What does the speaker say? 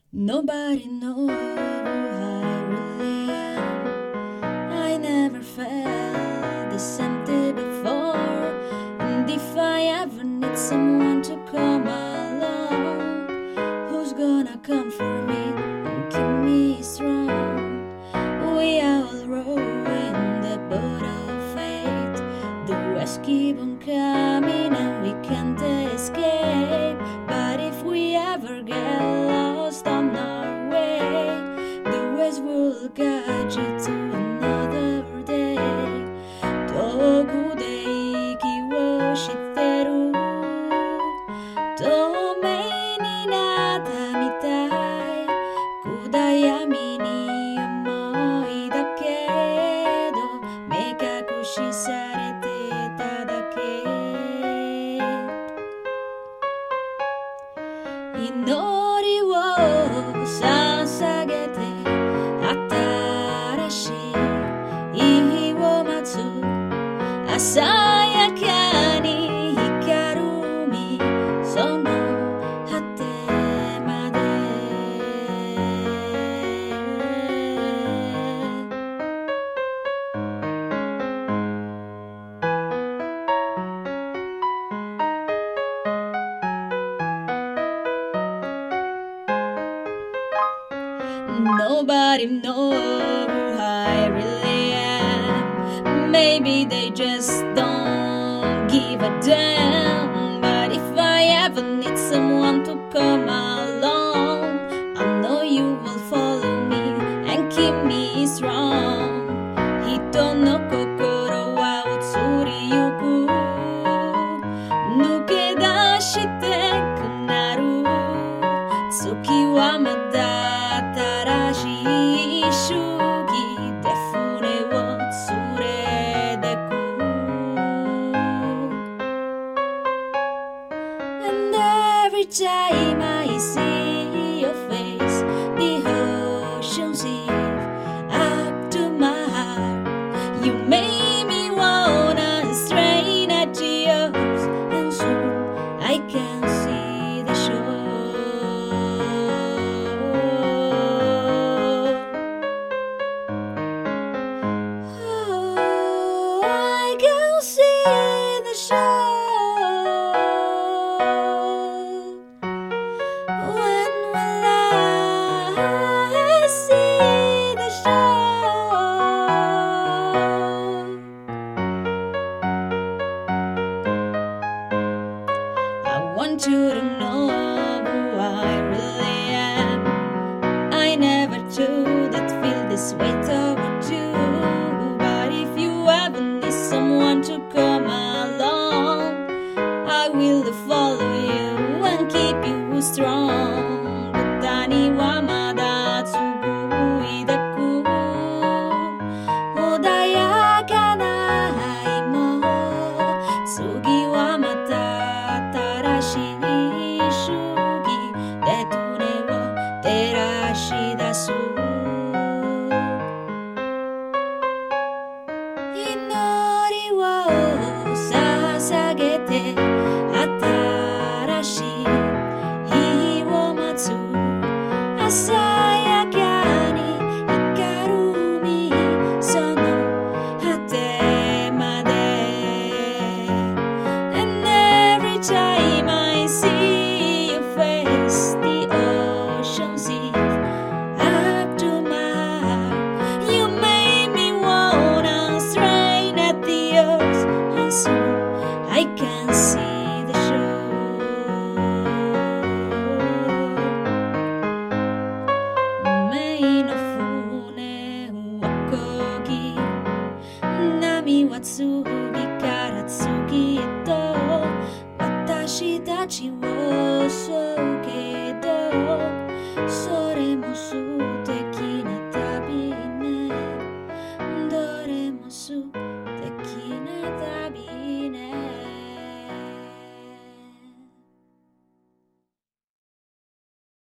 Nobody knows who I really am. I never felt this empty before. And if I ever need someone to come along, who's gonna come for me and keep me strong? We are all rowing the boat of fate. The waves keep on coming and we can't escape. But if we ever get lost on our way, the waves will guide you to another day. 遠くで息をしてる透明になったみたい。暗闇に思いだけど目隠しされてただけ。祈りを捧げて新しい日を待つ。朝やかに光る海その果てまで。Nobody knows who I really am. Maybe they just don't give a damn. But if I ever need someone to come along, I know you will follow me and keep me strong. 人の心は移りゆく。抜け出してくなる。月はまだ新しい主義で船を連れてく。And every time I see your face, the ocean seeps up to my heart. You make me wanna strain at yours, and soon I can see the shore. I can see the shore. When will I see the shore? I want you to know who I really am. I never told that feel this way toward you. But if you ever need someone to come along, I will follow you and keep you strong. 谷はまだ続いてく。穏やかな愛も次はまた新しい主義で船を照らし出す。祈りを捧げて新しい日を待つ。朝やかに光る海その果てまで。And every time I see your face, the ocean seeps up to my heart. You make me wanna strain at the earth, and soon I can see the shore. 運命の船を漕ぎ、波は次から次へと私たちを襲う。